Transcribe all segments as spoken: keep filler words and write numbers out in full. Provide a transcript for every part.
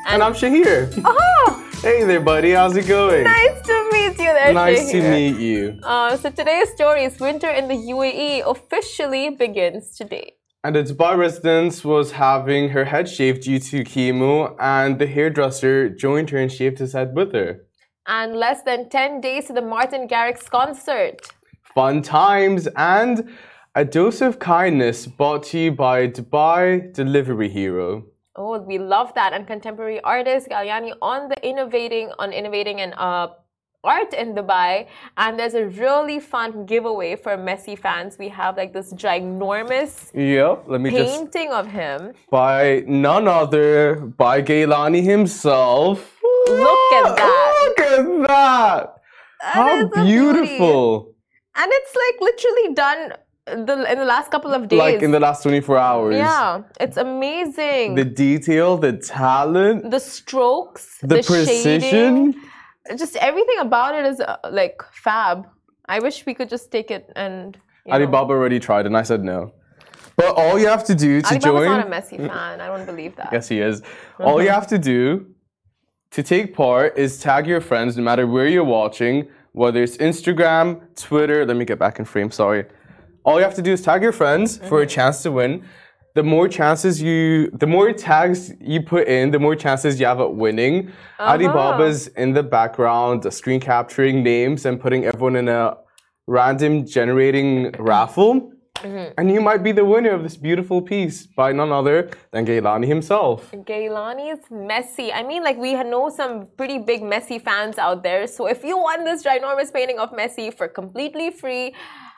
And, and I'm Shahir. Oh! Hey there, buddy. How's it going? Nice to meet you there, Nice Shahir. to meet you. Uh, so today's story is winter in the U A E officially begins today. And a Dubai resident was having her head shaved due to chemo, and the hairdresser joined her and shaved his head with her. And less than ten days to the Martin Garrix concert. Fun times and a dose of kindness brought to you by Dubai Delivery Hero. Oh, we love that. And contemporary artist Galyani on the innovating on innovating and uh, art in Dubai. And there's a really fun giveaway for Messi fans. We have like this ginormous Yep, let me just painting of him. by none other by Gaylani himself. Look at that. Look at that. That How is a beautiful. beauty. And it's like literally done the, in the last couple of days. Like in the last twenty-four hours. Yeah, it's amazing. The detail, the talent, The strokes, the, the precision. shading, just everything about it is uh, like fab. I wish we could just take it and. You know. Alibaba already tried and I said no. But all you have to do to Alibaba's join. not a Messi fan. I don't believe that. Yes, he is. All you have to do to take part is tag your friends no matter where you're watching, whether it's Instagram, Twitter. Let me get back in frame, sorry. All you have to do is tag your friends for a chance to win. The more chances you, the more tags you put in, the more chances you have at winning. Uh-huh. Alibaba's in the background, screen capturing names and putting everyone in a random generating raffle. Mm-hmm. And you might be the winner of this beautiful piece by none other than Gaylani himself. Gaylani's Messi. I mean, like, we know some pretty big Messi fans out there. So if you want this ginormous painting of Messi for completely free,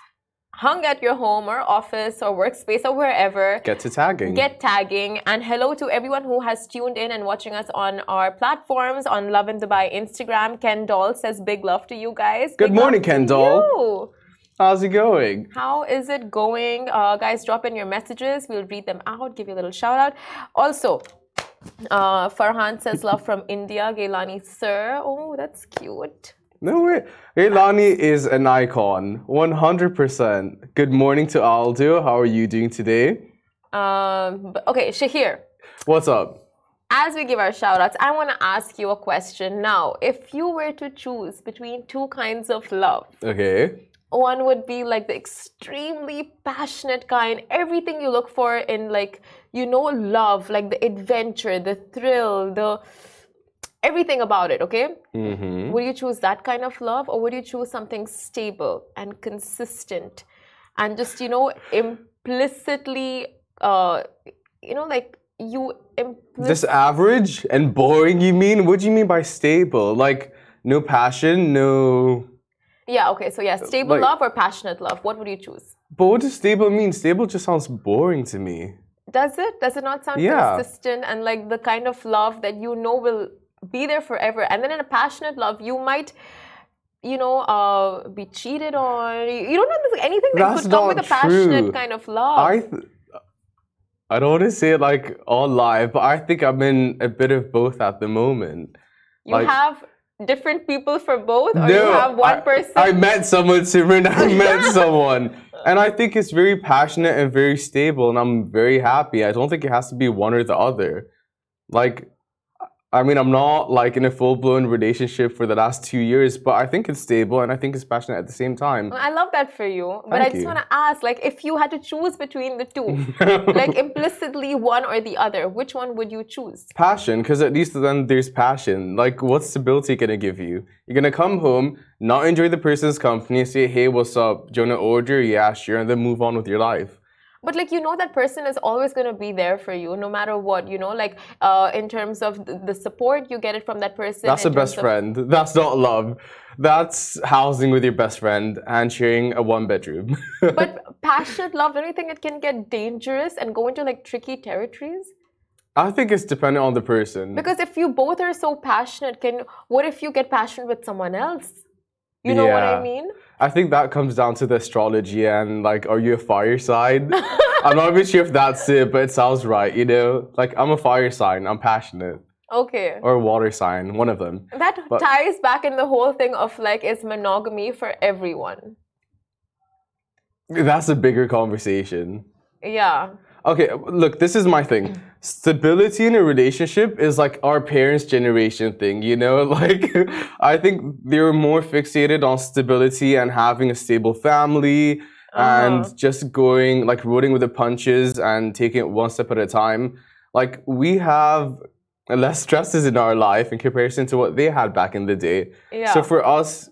hung at your home or office or workspace or wherever, get to tagging. Get tagging. And hello to everyone who has tuned in and watching us on our platforms on Love in Dubai Instagram. Ken Doll says big love to you guys. Good big morning, Ken Doll. You. How's it going? How is it going? Uh, guys, drop in your messages. We'll read them out, give you a little shout out. Also, uh, Farhan says love from India. Gaylani, sir. Oh, that's cute. No way. Gaylani is an icon. one hundred percent. Good morning to Aldo. How are you doing today? Um, but, okay, Shahir. What's up? As we give our shout outs, I want to ask you a question now. If you were to choose between two kinds of love, okay. One would be like the extremely passionate kind, everything you look for in like, you know, love, like the adventure, the thrill, the everything about it, okay? Mm-hmm. Would you choose that kind of love or would you choose something stable and consistent and just, you know, implicitly, uh, you know, like you implicitly... Just average and boring, you mean? What do you mean by stable? Like, no passion, no... Yeah, okay, so yeah, stable like, love or passionate love? What would you choose? But what does stable mean? Stable just sounds boring to me. Does it? Does it not sound yeah. consistent and like the kind of love that you know will be there forever? And then in a passionate love, you might, you know, uh, be cheated on. You don't know there's anything that That's could come not with a passionate true. kind of love. I, th- I don't want to say it like all live, but I think I'm in a bit of both at the moment. You like, have different people for both, or no, you have one I, person? I met someone, Simran. I met someone. And I think it's very passionate and very stable, and I'm very happy. I don't think it has to be one or the other. Like, I mean, I'm not like in a full-blown relationship for the last two years, but I think it's stable and I think it's passionate at the same time. I love that for you. But Thank I just you. want to ask, like, if you had to choose between the two, like implicitly one or the other, which one would you choose? Passion, because at least then there's passion. Like, what's stability going to give you? You're going to come home, not enjoy the person's company, say, hey, what's up? Do you want to order? Yeah, sure. And then move on with your life. But like, you know, that person is always going to be there for you no matter what, you know, like uh, in terms of the, the support you get it from that person. That's a best of... friend. That's not love. That's housing with your best friend and sharing a one bedroom. But passionate love, don't you think it can get dangerous and go into like tricky territories? I think it's dependent on the person. Because if you both are so passionate, can what if you get passionate with someone else? You know yeah. what I mean? I think that comes down to the astrology and like, are you a fire sign? I'm not even sure if that's it, but it sounds right, you know? Like, I'm a fire sign, I'm passionate. Okay. Or a water sign, one of them. That but, ties back in the whole thing of like, is monogamy for everyone? That's a bigger conversation. Yeah. Okay, look, this is my thing. Stability in a relationship is like our parents' generation thing, you know? Like, I think they were more fixated on stability and having a stable family Uh-huh. and just going, like, rolling with the punches and taking it one step at a time. Like, we have less stresses in our life in comparison to what they had back in the day. Yeah. So for us,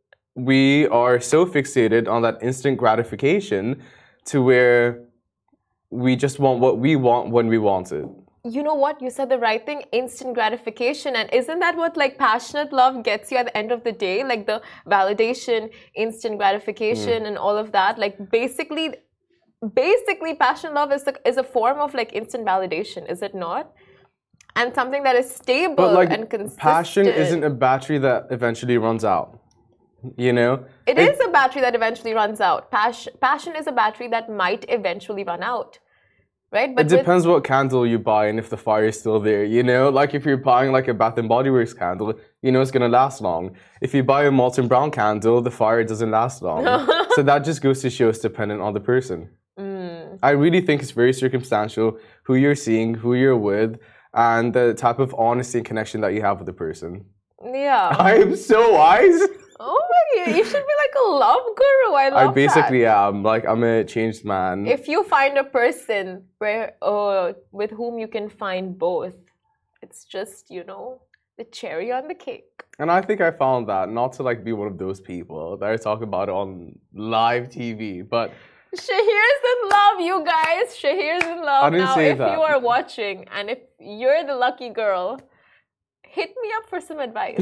we are so fixated on that instant gratification to where we just want what we want when we want it. You know what? You said the right thing, instant gratification. And isn't that what like passionate love gets you at the end of the day? Like the validation, instant gratification Mm. and all of that. Like basically, basically passionate love is, the, is a form of like instant validation, is it not? And something that is stable But like and consistent. passion isn't a battery that eventually runs out. You know? It is a battery that eventually runs out. Pas- passion is a battery that might eventually run out. Right? But it depends what candle you buy and if the fire is still there, you know? Like if you're buying like a Bath and Body Works candle, you know it's gonna last long. If you buy a Molton Brown candle, the fire doesn't last long. So that just goes to show it's dependent on the person. Mm. I really think it's very circumstantial who you're seeing, who you're with, and the type of honesty and connection that you have with the person. Yeah. I am so wise. Oh my god, you should be like a love guru. I love I basically that. am. Like I'm a changed man. If you find a person where uh, with whom you can find both, it's just, you know, the cherry on the cake. And I think I found that, not to like be one of those people that I talk about it on live T V, but Shahir's in love, you guys. Shahir's in love. I didn't now, say if that. you are watching and if you're the lucky girl, hit me up for some advice.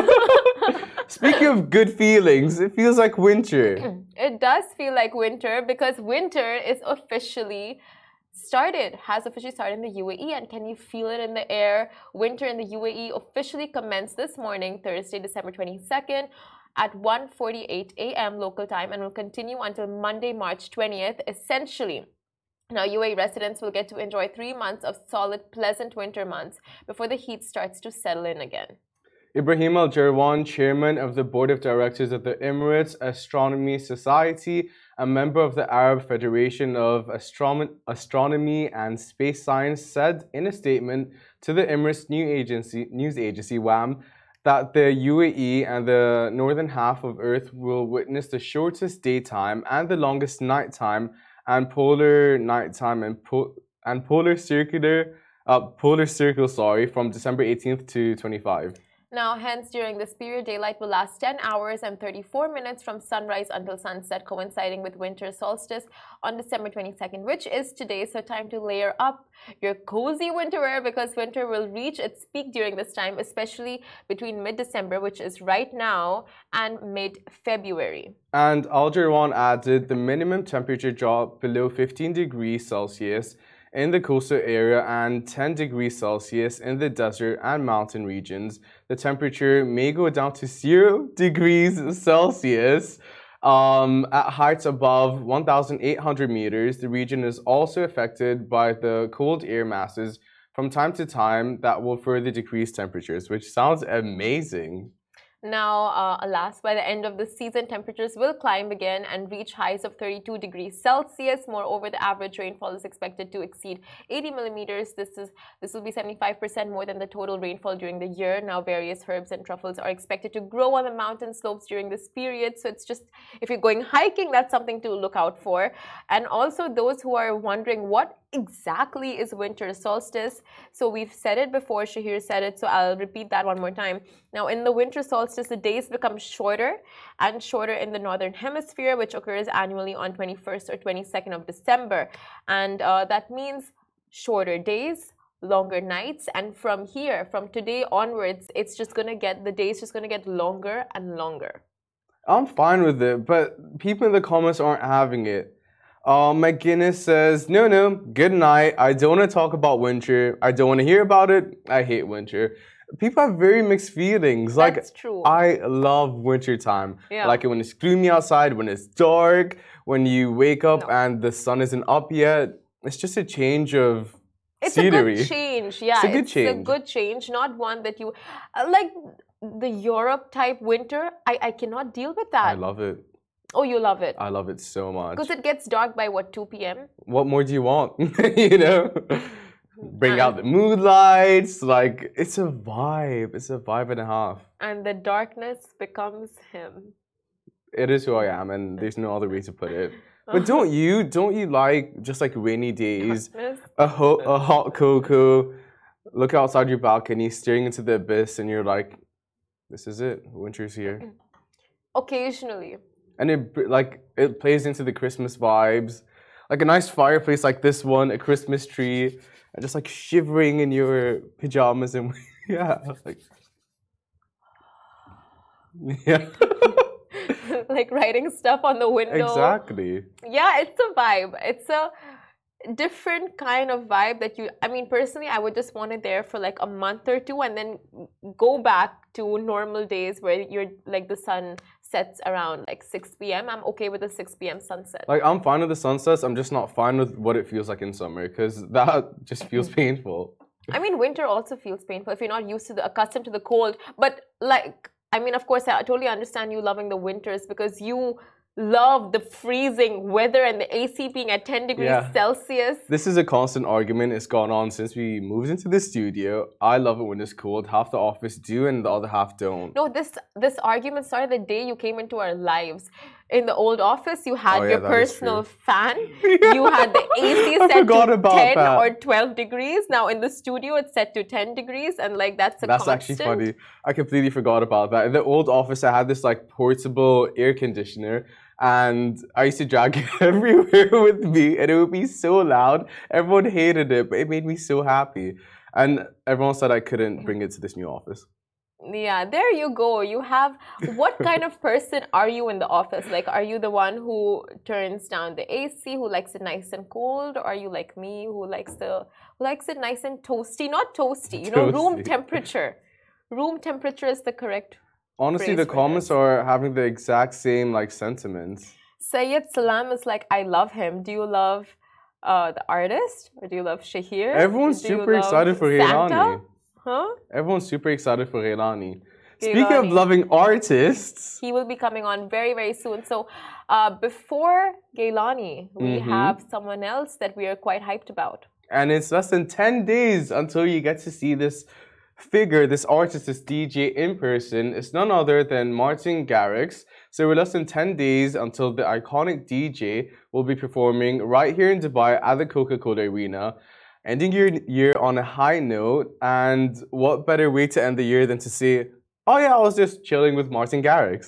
Speaking of good feelings, it feels like winter. It does feel like winter because winter is officially started, has officially started in the U A E. And can you feel it in the air? Winter in the U A E officially commenced this morning, Thursday, December twenty-second at one forty-eight a m local time and will continue until Monday, March twentieth, essentially. Now, U A E residents will get to enjoy three months of solid, pleasant winter months before the heat starts to settle in again. Ibrahim Al Jarwan, chairman of the board of directors of the Emirates Astronomy Society, a member of the Arab Federation of Astrom- Astronomy and Space Science, said in a statement to the Emirates news agency, news agency W A M that the U A E and the northern half of Earth will witness the shortest daytime and the longest nighttime and polar nighttime and, po- and polar circular uh, polar circle sorry from December eighteenth to twenty-fifth. Now, hence, during this period, daylight will last ten hours and thirty-four minutes from sunrise until sunset, coinciding with winter solstice on December twenty-second, which is today. So, time to layer up your cozy winter wear because winter will reach its peak during this time, especially between mid-December, which is right now, and mid-February. And Al Jarwan added the minimum temperature dropped below fifteen degrees Celsius in the coastal area and ten degrees Celsius in the desert and mountain regions. The temperature may go down to zero degrees Celsius um, at heights above one thousand eight hundred meters. The region is also affected by the cold air masses from time to time that will further decrease temperatures, which sounds amazing. Now, uh, alas, by the end of the season, temperatures will climb again and reach highs of thirty-two degrees Celsius. Moreover, the average rainfall is expected to exceed eighty millimeters. This is this will be seventy-five percent more than the total rainfall during the year. Now, various herbs and truffles are expected to grow on the mountain slopes during this period. So it's just, if you're going hiking, that's something to look out for. And also those who are wondering what exactly is winter solstice. So we've said it before, Shahir said it, so I'll repeat that one more time. Now, in the winter solstice, the days become shorter and shorter in the northern hemisphere, which occurs annually on twenty-first or twenty-second of December. And uh, that means shorter days, longer nights. And from here, from today onwards, it's just going to get, the days just going to get longer and longer. I'm fine with it, but people in the comments aren't having it. Uh, McGuinness says, no, no, good night. I don't want to talk about winter. I don't want to hear about it. I hate winter. People have very mixed feelings. Like, That's true. I love winter time. Yeah. I like it when it's gloomy outside, when it's dark, when you wake up No. and the sun isn't up yet. It's just a change of It's scenery. a good change. Yeah, It's a good it's change. a good change, not one that you uh, like the Europe type winter. I, I cannot deal with that. I love it. Oh, you love it. I love it so much. Because it gets dark by what, two p m? What more do you want? You know? Bring out the mood lights. Like, it's a vibe. It's a vibe and a half. And the darkness becomes him. It is who I am, and there's no other way to put it. But don't you? Don't you like just like rainy days? A, ho- a hot cocoa. Look outside your balcony, staring into the abyss, and you're like, "This is it. Winter's here." Occasionally. And it like it plays into the Christmas vibes, like a nice fireplace like this one, a Christmas tree, and just like shivering in your pajamas and yeah, like yeah. Like writing stuff on the window. Exactly. Yeah, it's a vibe. It's a different kind of vibe that you, I mean, personally, I would just want it there for like a month or two and then go back to normal days where you're like the sun sets around like six p m I'm okay with the six p m sunset. Like, I'm fine with the sunsets. I'm just not fine with what it feels like in summer because that just feels painful. I mean, winter also feels painful if you're not used to the, accustomed to the cold. But like, I mean, of course, I totally understand you loving the winters because you love the freezing weather and the A C being at ten degrees Yeah. Celsius. This is a constant argument. It's gone on since we moved into the studio. I love it when it's cold. Half the office do and the other half don't. No, this this argument started the day you came into our lives. In the old office, you had Oh, yeah, your that is personal true. fan. You had the A C I set forgot to about ten that. or twelve degrees. Now in the studio, it's set to ten degrees, and like that's a That's constant. actually funny. I completely forgot about that. In the old office, I had this like portable air conditioner, and I used to drag it everywhere with me, and it would be so loud. Everyone hated it, but it made me so happy. And everyone said I couldn't bring it to this new office. Yeah, there you go. You have what kind of person are you in the office? Like, are you the one who turns down the A C, who likes it nice and cold, or are you like me, who likes the who likes it nice and toasty? Not toasty, you know, room Toasty. temperature. Room temperature is the correct. Honestly, Phrase the for comments this. are having the exact same like sentiments. Sayed Salam is like, I love him. Do you love uh, the artist, or do you love Shahir? Everyone's Do you super love excited for Santa? Reilani. Huh? Everyone's super excited for Reilani. Speaking of Gailani. loving artists, He will be coming on very, very soon. So, uh, before Gailani, we Mhm. have someone else that we are quite hyped about. and it's less than ten days until you get to see this figure, this artist, this D J in person. It's none other than Martin Garrix. So we're less than ten days until the iconic D J will be performing right here in Dubai at the Coca-Cola Arena, ending your year on a high note. And what better way to end the year than to say, oh yeah, I was just chilling with Martin Garrix.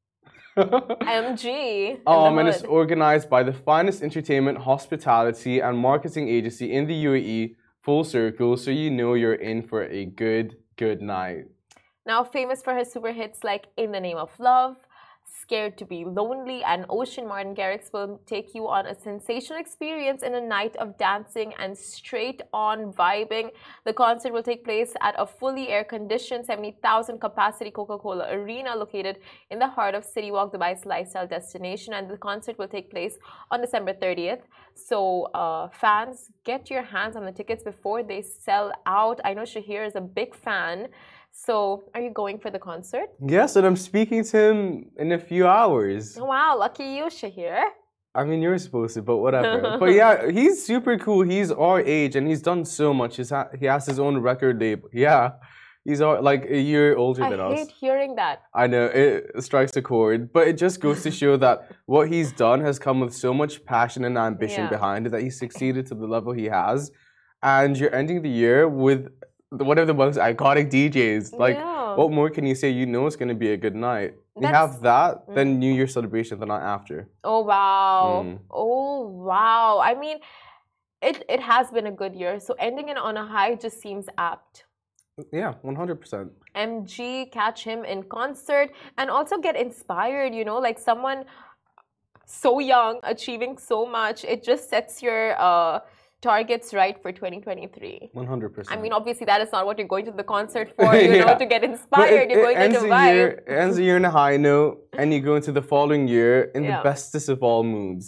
M G. in the Um, and it's hood. organized by the finest entertainment, hospitality, and marketing agency in the U A E, Full Circle, so you know you're in for a good, good night. Now famous for her super hits like In the Name of Love, Scared to Be Lonely, and Ocean, Martin Garrix will take you on a sensational experience in a night of dancing and straight on vibing. The concert will take place at a fully air-conditioned seventy thousand capacity Coca-Cola Arena located in the heart of City Walk, Dubai's lifestyle destination, and the concert will take place on December thirtieth. So uh, fans, get your hands on the tickets before they sell out. I know Shahir is a big fan. So, are you going for the concert? Yes, and I'm speaking to him in a few hours. Wow, lucky you, Shahir. I mean, you're supposed to, but whatever. But yeah, he's super cool. He's our age, and he's done so much. He's ha- he has his own record label. Yeah, he's our, like a year older I than us. hate hearing that. I know, it strikes a chord, but it just goes to show that what he's done has come with so much passion and ambition Yeah. behind it that he succeeded to the level he has. And you're ending the year with one of the most iconic D Js. Like, Yeah. what more can you say? You know it's going to be a good night. You That's- have that, then New Year celebration the night after. Oh wow. Mm. Oh wow. I mean, it it has been a good year. So ending it on a high just seems apt. Yeah, one hundred percent. M G, catch him in concert and also get inspired, you know, like someone so young achieving so much. It just sets your uh targets right for twenty twenty-three. one hundred percent. I mean, obviously, that is not what you're going to the concert for, you Yeah. know, to get inspired. You're going there ends to the vibe. year, it ends the year in a high note, and you go into the following year in Yeah. the bestest of all moods.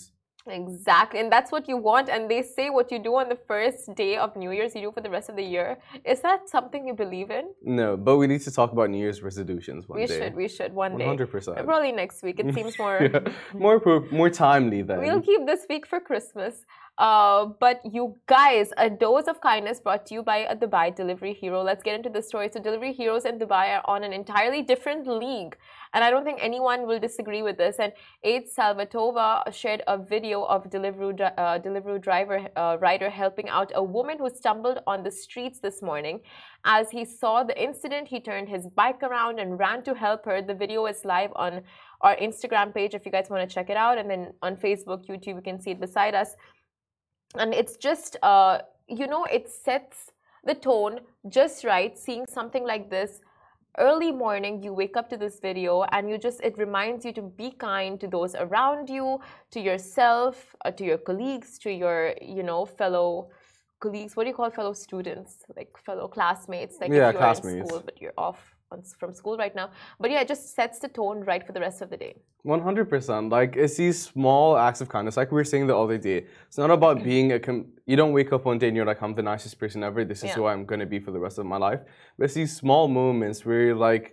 Exactly, and that's what you want. And they say what you do on the first day of New Year's, you do for the rest of the year. Is that something you believe in? No, but we need to talk about New Year's resolutions one we day. We should, we should one day. one hundred percent. Probably next week. It seems more yeah. more more timely then. We'll keep this week for Christmas. Uh, but you guys, a dose of kindness brought to you by a Dubai delivery hero. Let's get into the story. So delivery heroes in Dubai are on an entirely different league. And I don't think anyone will disagree with this. And Aid Salvatova shared a video of Deliveroo, uh, Deliveroo driver uh, rider helping out a woman who stumbled on the streets this morning. As he saw the incident, he turned his bike around and ran to help her. The video is live on our Instagram page if you guys want to check it out. And then on Facebook, YouTube, you can see it beside us. And it's just, uh, you know, it sets the tone just right. Seeing something like this early morning, you wake up to this video and you just, it reminds you to be kind to those around you, to yourself, uh, to your colleagues, to your, you know, fellow colleagues. What do you call fellow students? Like fellow classmates. Like yeah, if you're classmates. in school, but you're off from school right now. But yeah, it just sets the tone right for the rest of the day. one hundred percent. Like, it's these small acts of kindness. Like we were saying the other day, it's not about being a... Com you don't wake up one day and you're like, I'm the nicest person ever. This is yeah. who I'm going to be for the rest of my life. But it's these small moments where you're like,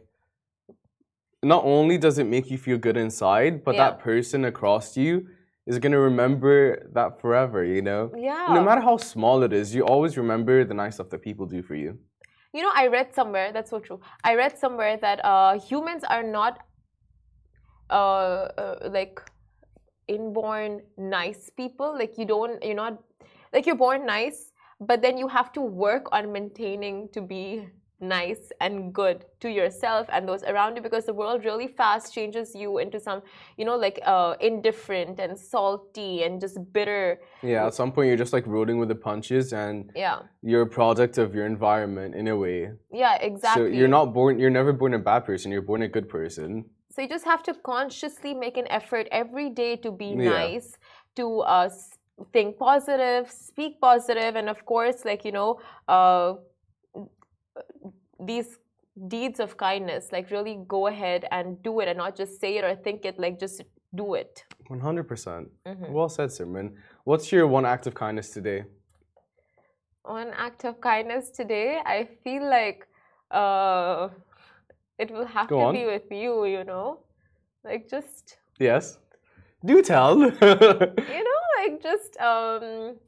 not only does it make you feel good inside, but yeah. that person across you is going to remember that forever, you know? Yeah. No matter how small it is, you always remember the nice stuff that people do for you. You know, I read somewhere, that's so true. I read somewhere that uh, humans are not uh, uh, like inborn nice people. Like you don't, you're not, like you're born nice, but then you have to work on maintaining to be nice and good to yourself and those around you, because the world really fast changes you into some, you know, like uh, indifferent and salty and just bitter. Yeah, at some point you're just like rolling with the punches, and yeah, you're a product of your environment in a way. Yeah, exactly. So you're not born, you're never born a bad person, you're born a good person. So you just have to consciously make an effort every day to be yeah. nice, to uh, think positive, speak positive, and of course, like, you know, uh, these deeds of kindness, like really go ahead and do it and not just say it or think it, like just do it. one hundred percent. Mm-hmm. Well said, Simran. What's your one act of kindness today? One act of kindness today, I feel like uh, it will have go to on. be with you, you know? Like just... Yes. Do tell. You know, like just... Um,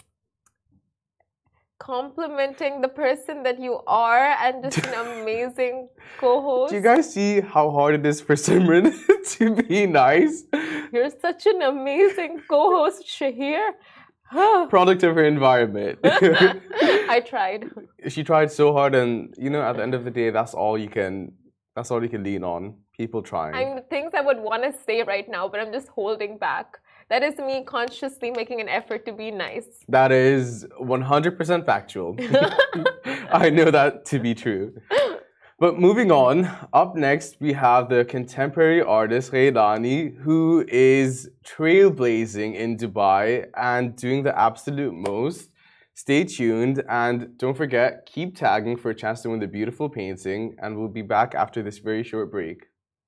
complimenting the person that you are and just an amazing co-host. Do you guys see how hard it is for Simran to be nice? You're such an amazing co-host, Shahir. Product of her environment. I tried. She tried so hard, and you know, at the end of the day, that's all you can. That's all you can lean on. People trying. I mean, things I would want to say right now, but I'm just holding back. That is me consciously making an effort to be nice. That is one hundred percent factual. I know that to be true. But moving on, up next we have the contemporary artist Ghailani, who is trailblazing in Dubai and doing the absolute most. Stay tuned and don't forget, keep tagging for a chance to win the beautiful painting, and we'll be back after this very short break.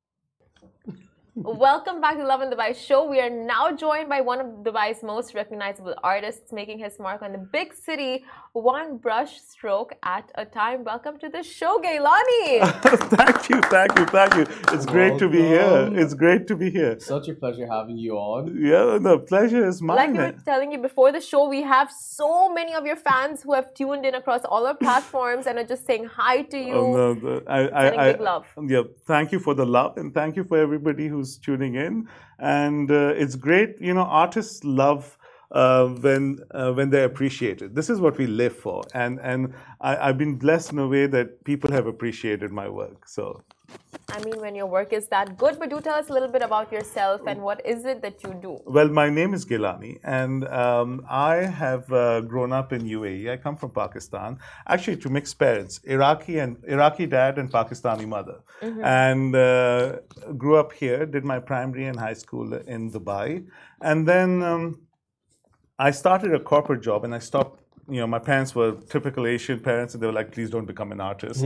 Welcome back to Lovin Dubai show. We are now joined by one of Dubai's most recognizable artists, making his mark on the big city, one brush stroke at a time. Welcome to the show, Ghailani. Thank you, thank you, thank you. It's great to be here. It's great to be here. Such a pleasure having you on. Yeah, the pleasure is mine. Like we were telling you before the show, we have so many of your fans who have tuned in across all our platforms and are just saying hi to you. Oh, no, the, I, sending I, big love. Yeah, thank you for the love, and thank you for everybody who's tuning in. And uh, it's great, you know, artists love uh, when uh, when they're appreciated. This is what we live for, and and I, I've been blessed in a way that people have appreciated my work. So, I mean, when your work is that good, but do tell us a little bit about yourself and what is it that you do? Well, my name is Ghailani, and um, I have uh, grown up in U A E. I come from Pakistan, actually to mixed parents, Iraqi and Iraqi dad and Pakistani mother, mm-hmm. and uh, grew up here. Did my primary and high school in Dubai, and then um, I started a corporate job, and I stopped you know, my parents were typical Asian parents, and they were like, please don't become an artist.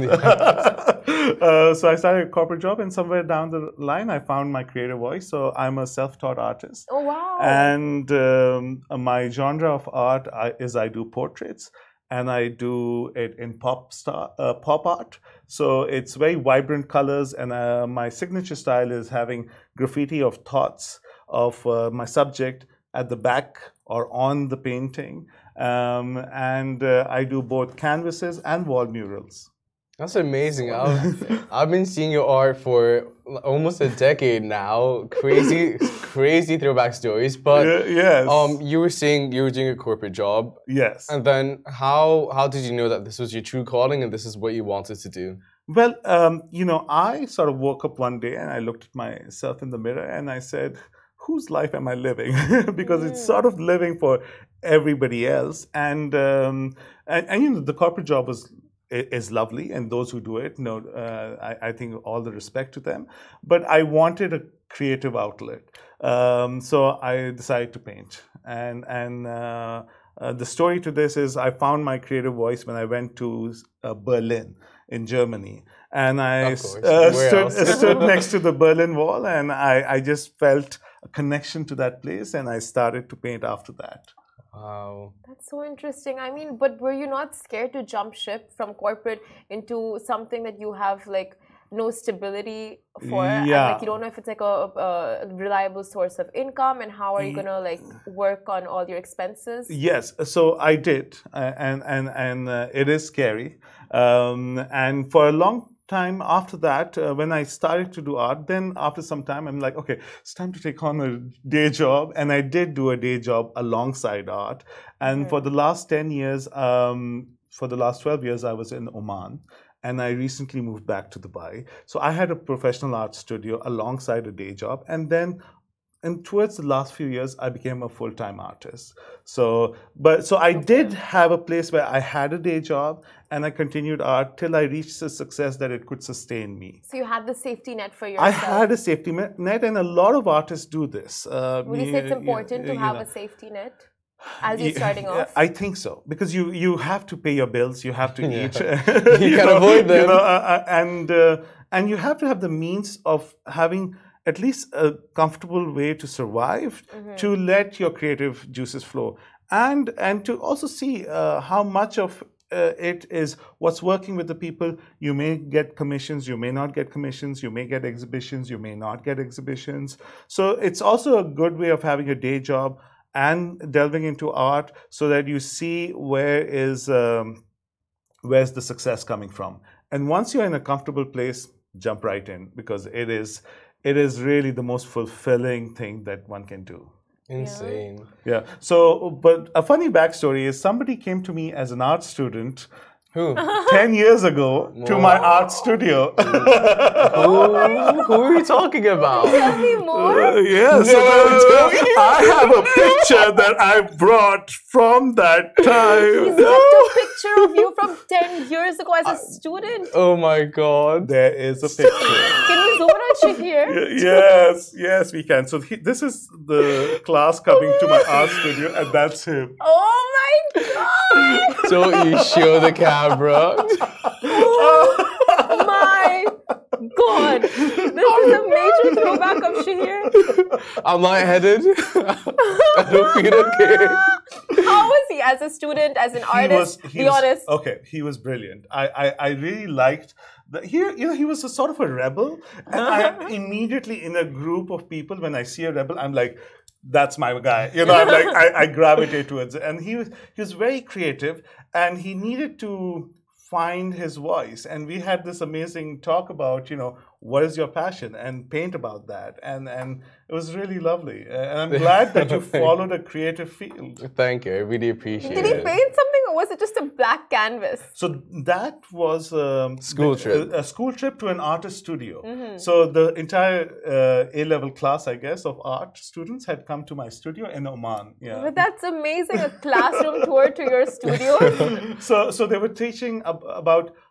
uh, so I started a corporate job, and somewhere down the line, I found my creative voice. So I'm a self-taught artist. Oh, wow. And um, my genre of art I, is I do portraits, and I do it in pop star, uh, pop art. So it's very vibrant colors, and uh, my signature style is having graffiti of thoughts of uh, my subject at the back or on the painting. Um, and uh, I do both canvases and wall murals. That's amazing. I've, I've been seeing your art for almost a decade now. Crazy, crazy throwback stories. But Uh, yes. um, you were saying you were doing a corporate job. Yes. And then how how did you know that this was your true calling and this is what you wanted to do? Well, um, you know, I sort of woke up one day and I looked at myself in the mirror and I said, whose life am I living? Because mm. it's sort of living for everybody else. And, um, and, and, you know, the corporate job was is lovely, and those who do it, you know, uh, I, I think all the respect to them. But I wanted a creative outlet. Um, so I decided to paint. And, and uh, uh, the story to this is I found my creative voice when I went to uh, Berlin in Germany. And I uh, stood, stood next to the Berlin Wall, and I, I just felt a connection to that place, and I started to paint after that. Wow. That's so interesting. I mean, but were you not scared to jump ship from corporate into something that you have like no stability for? Yeah. And, like you don't know if it's like a, a reliable source of income, and how are you gonna like work on all your expenses? Yes, so I did, uh, and and and uh, it is scary. Um, and for a long time after that, uh, when I started to do art, then after some time, I'm like, okay, it's time to take on a day job. And I did do a day job alongside art. And mm-hmm. for the last ten years, um, for the last twelve years, I was in Oman. And I recently moved back to Dubai. So I had a professional art studio alongside a day job. And then And towards the last few years, I became a full-time artist. So, but so I did have a place where I had a day job, and I continued art till I reached a success that it could sustain me. So you had the safety net for yourself. I had a safety net, and a lot of artists do this. Uh, Would you say it's important you, to have know. a safety net as you're starting off? I think so, because you you have to pay your bills, you have to yeah. eat, you, you can't avoid them, you know, uh, and uh, and you have to have the means of having at least a comfortable way to survive, mm-hmm. to let your creative juices flow, and and to also see uh, how much of uh, it is what's working with the people. You may get commissions, you may not get commissions, you may get exhibitions, you may not get exhibitions. So it's also a good way of having a day job and delving into art, so that you see where is um, where's the success coming from. And once you're in a comfortable place, jump right in, because it is It is really the most fulfilling thing that one can do. Insane. Yeah. So, but a funny backstory is somebody came to me as an art student. Who? Ten years ago Whoa. to my art studio. who, who are you talking about? Tell me more. Uh, yes. No, I have a picture that I brought from that time. He's left a picture of you from ten years ago as a student. Oh my God. There is a picture. Can we zoom in on Shahir? Yes, yes, we can. So he, this is the class coming to my art studio, and that's him. Oh my God! Don't you show the camera. Oh my God! This is a major throwback of Shahir. I'm lightheaded. I don't feel okay. How was he as a student, as an he artist? Was, be was, honest. Okay, he was brilliant. I, I, I really liked that. He, you know, he was a sort of a rebel, and I immediately, in a group of people, when I see a rebel, I'm like, that's my guy. You know, I'm like, I, I gravitate towards it. And he was he was very creative, and he needed to find his voice. And we had this amazing talk about, you know, what is your passion, and paint about that. And and it was really lovely. And I'm glad that you followed a creative field. Thank you. I really appreciate it. Did he paint something, or was it just a black canvas? So that was um, school trip. A, a school trip to an artist studio. Mm-hmm. So the entire uh, A-level class, I guess, of art students had come to my studio in Oman. Yeah. But that's amazing, a classroom tour to your studio. so so they were teaching ab- about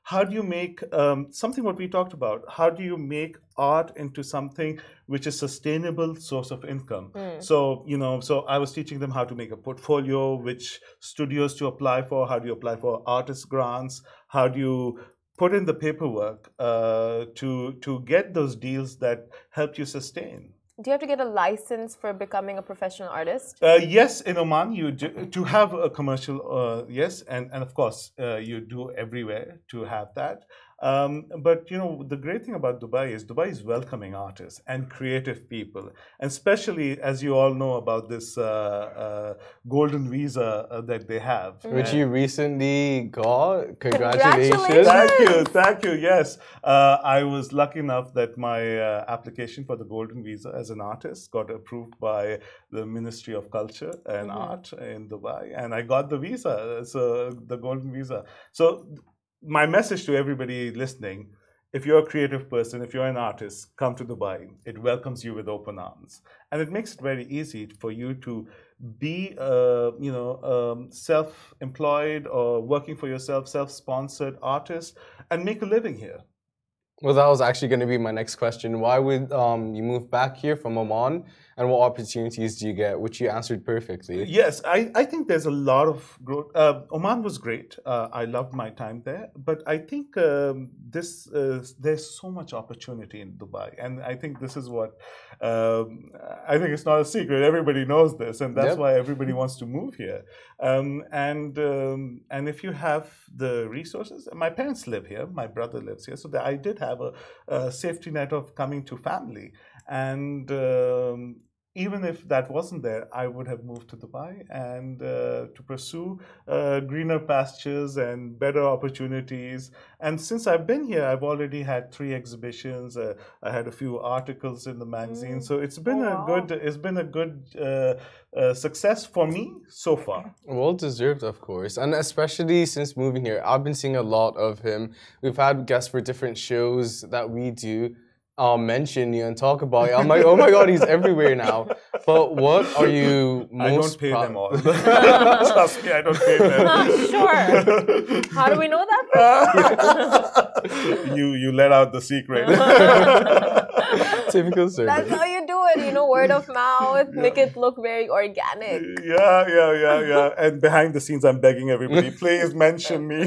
how do you make um, something what we talked about? How do you make art into something which is sustainable source of income? Mm. So, you know, so I was teaching them how to make a portfolio, which studios to apply for, how do you apply for artist grants, how do you put in the paperwork uh, to to get those deals that help you sustain. Do you have to get a license for becoming a professional artist? Uh, yes, in Oman, you do, to have a commercial, uh, yes, and, and of course, uh, you do everywhere to have that. Um, but you know, the great thing about Dubai is Dubai is welcoming artists and creative people, and especially as you all know about this uh, uh, golden visa uh, that they have, Which And- you recently got. Congratulations. Congratulations. Thank you, thank you. Yes, uh, I was lucky enough that my uh, application for the Golden Visa as an artist got approved by the Ministry of Culture and Art in Dubai, and I got the visa, so the Golden Visa. So, my message to everybody listening: if you're a creative person, if you're an artist, come to Dubai. It welcomes you with open arms, and it makes it very easy for you to be, uh, you know, um, self-employed or working for yourself, self-sponsored artist, and make a living here. Well, that was actually going to be my next question. Why would um, you move back here from Oman, and what opportunities do you get? Which you answered perfectly. Yes, I, I think there's a lot of growth. Uh, Oman was great. Uh, I loved my time there. But I think um, this uh, there's so much opportunity in Dubai. And I think this is what, um, I think it's not a secret. Everybody knows this. And that's Yep. why everybody wants to move here. Um, and um, and if you have the resources, my parents live here. My brother lives here. So that I did have a, a safety net of coming to family. And um, even if that wasn't there, I would have moved to Dubai and uh, to pursue uh, greener pastures and better opportunities. And since I've been here, I've already had three exhibitions. Uh, I had a few articles in the magazine, so it's been Oh, a wow. good. It's been a good uh, uh, success for me so far. Well deserved, of course. And especially since moving here, I've been seeing a lot of him. We've had guests for different shows that we do um, mention you and talk about you. I'm like, oh my God, he's everywhere now. But what are you most I don't pay proud- them all. Trust me, I don't pay them. Sure. How do we know that? you you let out the secret. Typical That's service. how you do it, you know, word of mouth, make it look very organic. Yeah, yeah, yeah, yeah. And behind the scenes, I'm begging everybody, please mention me,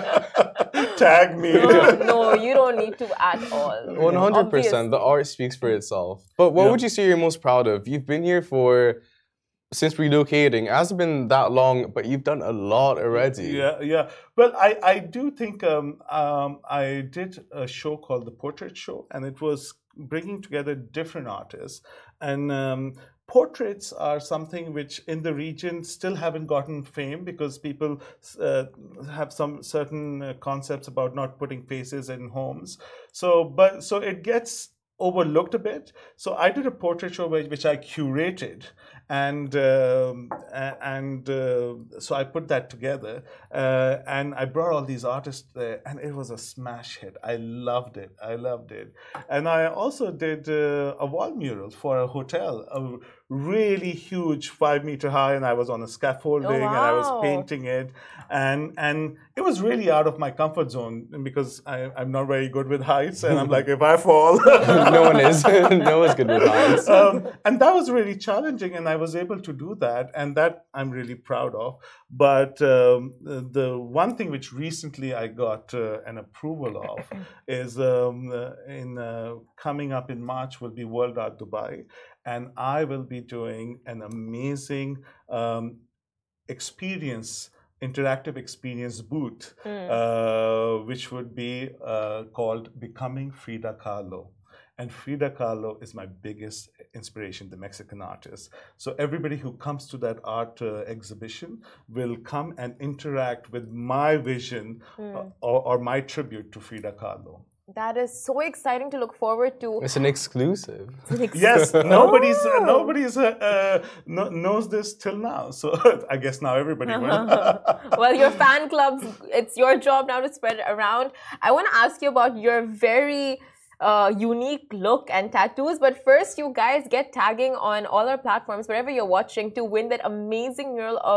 tag me. No, no, you don't need to at all. one hundred percent. The art speaks for itself. But what Yeah. would you say you're most proud of? You've been here for, since relocating. It hasn't been that long, but you've done a lot already. Yeah, yeah. Well, I, I do think um, um, I did a show called The Portrait Show, and it was bringing together different artists. And um, portraits are something which in the region still haven't gotten fame because people uh, have some certain uh, concepts about not putting faces in homes. So, but so it gets overlooked a bit. So I did a portrait show which, which I curated, and um, a- and uh, so I put that together, uh, and I brought all these artists there, and it was a smash hit. I loved it. I loved it, and I also did uh, a wall mural for a hotel, a really huge, five meter high, and I was on a scaffolding, and I was wow. painting it, and and it was really out of my comfort zone because I, I'm not very good with heights, and I'm like, if I fall. No one is. No one's good with heights. um, and that was really challenging, and I was able to do that, and that I'm really proud of. But um, the, the one thing which recently I got uh, an approval of is um, uh, in uh, coming up in March will be World Art Dubai, and I will be doing an amazing um, experience. Interactive experience booth, uh, which would be uh, called Becoming Frida Kahlo. And Frida Kahlo is my biggest inspiration, the Mexican artist. So everybody who comes to that art uh, exhibition will come and interact with my vision uh, or, or my tribute to Frida Kahlo. That is so exciting to look forward to. It's an exclusive. Yes, nobody's uh, Oh. nobody's uh, uh, no, knows this till now. So I guess now everybody will. Well, your fan clubs, it's your job now to spread it around. I want to ask you about your very uh, unique look and tattoos. But first, you guys get tagging on all our platforms, wherever you're watching, to win that amazing mural of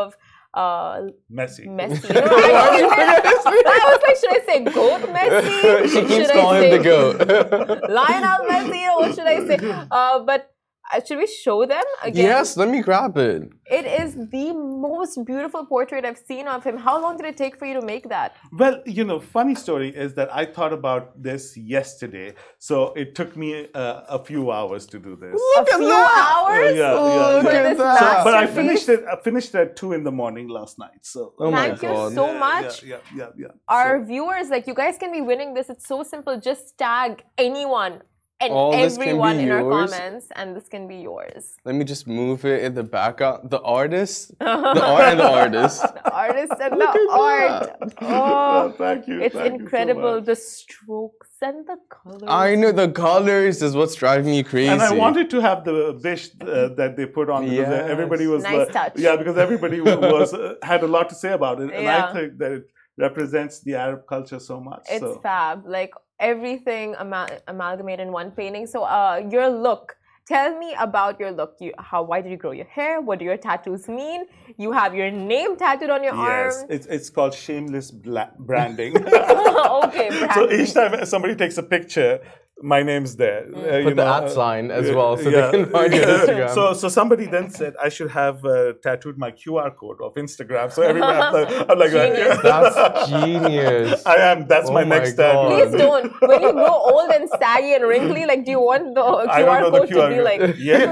uh, Messi. Messi. You know, I, I was like, should I say goat Messi? She keeps Should calling I him say the goat. Lionel Messi? Or what should I say? Uh, but uh, should we show them again? Yes, let me grab it. It is the most beautiful portrait I've seen of him. How long did it take for you to make that? Well, you know, funny story is that I thought about this yesterday, so it took me uh, a few hours to do this. A few hours? Yeah, Oh, yeah, look yeah. at this that. So, but I masterpiece? finished it. I finished at two in the morning last night. So. Oh my Thank you God. so Yeah, much. Yeah, yeah, yeah. yeah. Our So- viewers, like you guys can be winning this. It's so simple. Just tag anyone and All this can be everyone in our yours? comments, and this can be yours. Let me just move it in the background. The artist, the art and the artist. The artist and Look the at art. that. Oh, thank you. it's thank you so incredible. much. The strokes and the colors. I know the colors is what's driving me crazy. And I wanted to have the bish uh, that they put on because Yes. everybody was Nice uh, touch. yeah, because everybody was uh, had a lot to say about it, and Yeah. I think that it represents the Arab culture so much. It's so. fab. Like everything amal- amalgamated in one painting. So, uh, your look. Tell me about your look. You, how? Why did you grow your hair? What do your tattoos mean? You have your name tattooed on your Yes, arm. it's it's called shameless bla- branding. Okay, So branding. each time somebody takes a picture, my name's there. Uh, you Put the know, at uh, sign as yeah, well so yeah. they can find your Instagram. So, so somebody then said I should have uh, tattooed my Q R code of Instagram. So everybody, I'm like, I'm like Genius. That's genius. I am. That's Oh my my next God. tagline. Please don't. When you grow old and saggy and wrinkly, like, do you want the I Q R don't know the code Q R to be like? yes,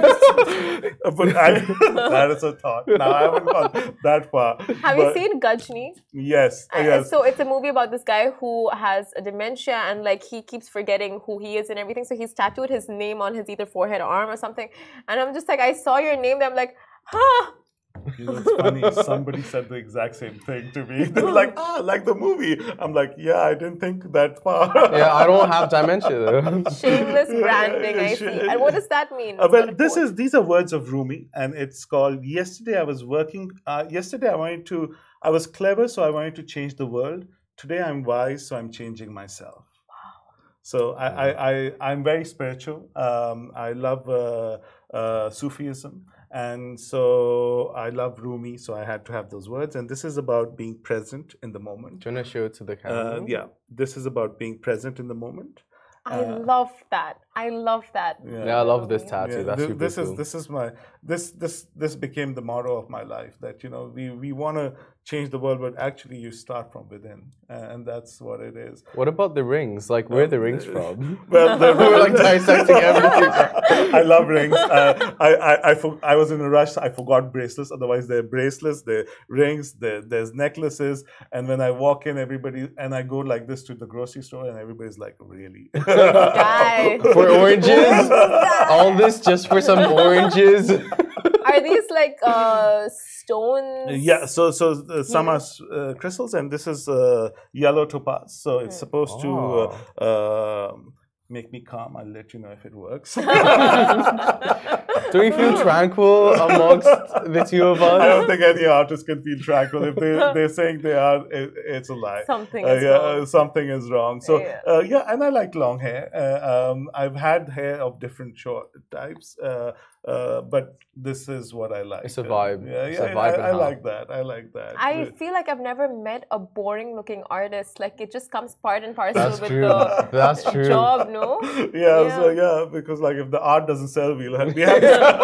but I, that is a thought. Now I haven't gone that far. Have you but seen Gajni? Yes, Uh, yes. So it's a movie about this guy who has a dementia and like he keeps forgetting who he is and everything. So he's tattooed his name on his either forehead or arm or something. And I'm just like, I saw your name there. I'm like, huh. You know, it's funny. Somebody said the exact same thing to me. They're like, ah, like the movie. I'm like, yeah, I didn't think that far. Yeah, I don't have dementia though. Shameless branding, I Yeah, see. sh- And what does that mean? Uh, What's well, that this quote? is these are words of Rumi, and it's called. Yesterday, I was working. Uh, yesterday, I wanted to. I was clever, so I wanted to change the world. Today, I'm wise, so I'm changing myself. So I, I, I, I'm very spiritual. Um, I love uh, uh, Sufism. And so I love Rumi, so I had to have those words. And this is about being present in the moment. Do you want to show it to the camera? Uh, yeah, this is about being present in the moment. I uh, love that. I love that. Yeah, I love this tattoo. Yeah, That's thi- super this cool. is this is my this this this became the motto of my life, that you know we we want to change the world, but actually you start from within, and that's what it is. What about the rings? Like, where are the rings from? Well, the, We're like dissecting everything. I love rings. Uh, I I I, for, I was in a rush. I forgot bracelets. Otherwise, there are bracelets, there are rings, there there's necklaces. And when I walk in, everybody and I go like this to the grocery store, and everybody's like, really? Guys. For oranges? All this just for some oranges? Are these like uh, stones? Yeah, so so uh, some Yeah. are uh, crystals, and this is uh, yellow topaz. So it's supposed to uh, uh, make me calm. I'll let you know if it works. Do we feel tranquil amongst the two of us? I don't think any artist can feel tranquil. If they, they're saying they are, it, it's a lie. Something Uh, is yeah, wrong. uh, something is wrong. So Yeah. uh, yeah, and I like long hair. Uh, um, I've had hair of different short types, uh, uh, but this is what I like. It's a Uh, vibe. yeah, It's yeah, a vibe I, and I how. like that. I like that. I Uh, feel like I've never met a boring looking artist. Like it just comes part and parcel That's with true. the That's true. job, no? yeah, so Yeah. yeah, because like if the art doesn't sell, we'll have. We have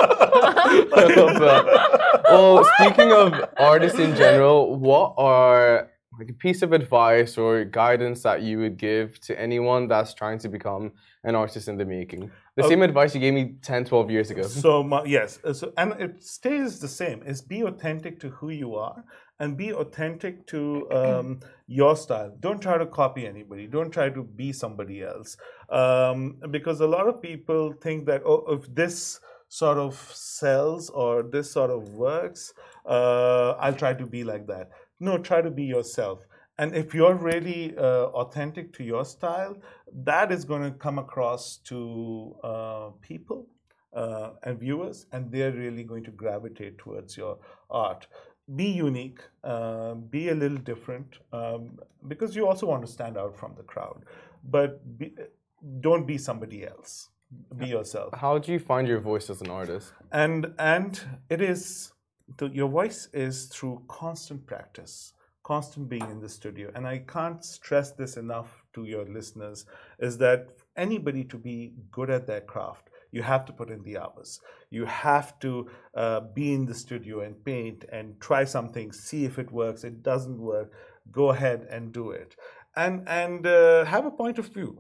I love that. Well, speaking of artists in general, what are like a piece of advice or guidance that you would give to anyone that's trying to become an artist in the making? The same advice you gave me ten, twelve years ago. So mu- yes, uh, so, and it stays the same. Is be authentic to who you are, and be authentic to um, your style. Don't try to copy anybody. Don't try to be somebody else, um, because a lot of people think that oh, if this sort of sells or this sort of works, uh, I'll try to be like that. No, try to be yourself. And if you're really uh, authentic to your style, that is going to come across to uh, people uh, and viewers, and they're really going to gravitate towards your art. Be unique, uh, be a little different, um, because you also want to stand out from the crowd. But be, don't be somebody else. Be yourself. How do you find your voice as an artist? And and it is the, your voice is through constant practice, constant being in the studio. And I can't stress this enough to your listeners, is that anybody to be good at their craft, you have to put in the hours. You have to uh, be in the studio and paint and try something, see if it works. It doesn't work, go ahead and do it. And and uh, have a point of view.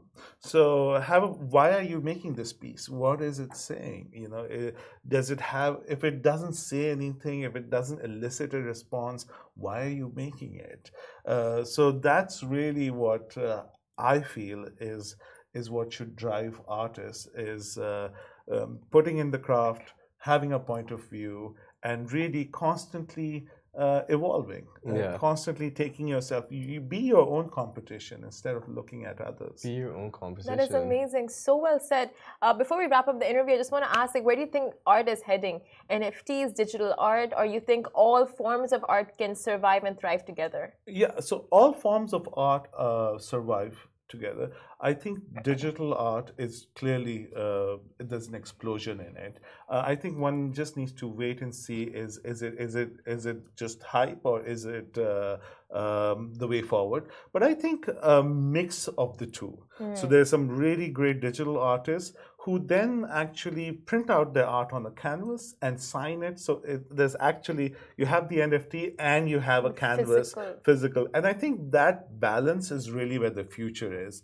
So have a, why are you making this piece? What is it saying? You know, it, does it have? If it doesn't say anything, if it doesn't elicit a response, why are you making it? Uh, so that's really what uh, I feel is is what should drive artists, is uh, um, putting in the craft, having a point of view, and really constantly uh, evolving, uh, Yeah. constantly taking yourself, you, you be your own competition instead of looking at others. Be your own competition. That is amazing. So well said. Uh, before we wrap up the interview, I just want to ask, like, where do you think art is heading? N F Ts, digital art, or you think all forms of art can survive and thrive together? Yeah, so all forms of art uh, survive together. I think digital art is clearly, uh, there's an explosion in it. Uh, I think one just needs to wait and see, is is it is it is it just hype, or is it uh, um, the way forward? But I think a mix of the two. So there's some really great digital artists who then actually print out their art on a canvas and sign it. So it, there's actually, you have the N F T and you have a canvas, Physical. physical. And I think that balance is really where the future is.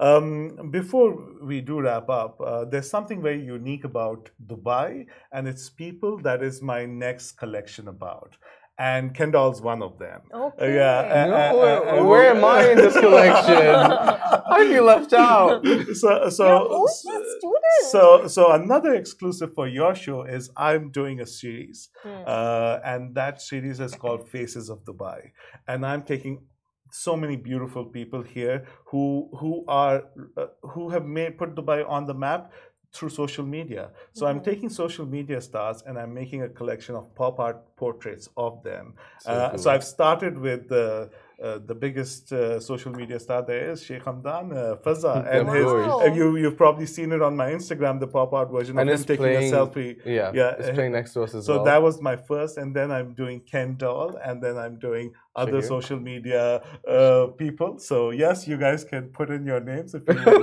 Um, before we do wrap up, uh, there's something very unique about Dubai and its people that is my next collection about. And Kendall's one of them. Okay. Uh, yeah. No, uh, uh, where, uh, where am I in this collection? I feel left out. So, so, You're only a student. so, so another exclusive for your show is I'm doing a series, Hmm. uh, and that series is called Faces of Dubai, and I'm taking so many beautiful people here who who are uh, who have made put Dubai on the map through social media. So I'm taking social media stars and I'm making a collection of pop art portraits of them. So Uh, cool. so I've started with the uh, the biggest uh, social media star there is Sheikh Hamdan uh, Fazza, and Of his course. uh, you you've probably seen it on my Instagram, the pop art version And of it's him taking playing, a selfie. Yeah, Yeah, it's uh, playing next to us as So well. that was my first, and then I'm doing Ken Doll, and then I'm doing other Shahir. social media uh, people. So yes, you guys can put in your names if you would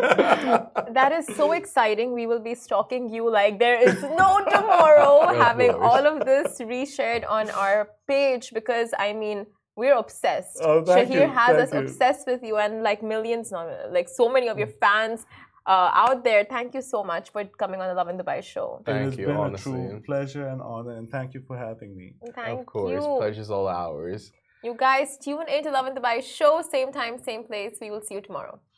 like. That is so exciting. We will be stalking you like there is no tomorrow, Of having course. all of this reshared on our page, because I mean, we're obsessed. Oh, thank Shahir you, has thank us you. obsessed with you, and like millions, no, like so many of your fans uh, out there. Thank you so much for coming on the Love in Dubai show. It Thank has you, been honestly. a true pleasure and honor, and thank you for having me. Thank Of course, you. pleasure's all ours. You guys tune in to Love in Dubai show, same time, same place. We will see you tomorrow.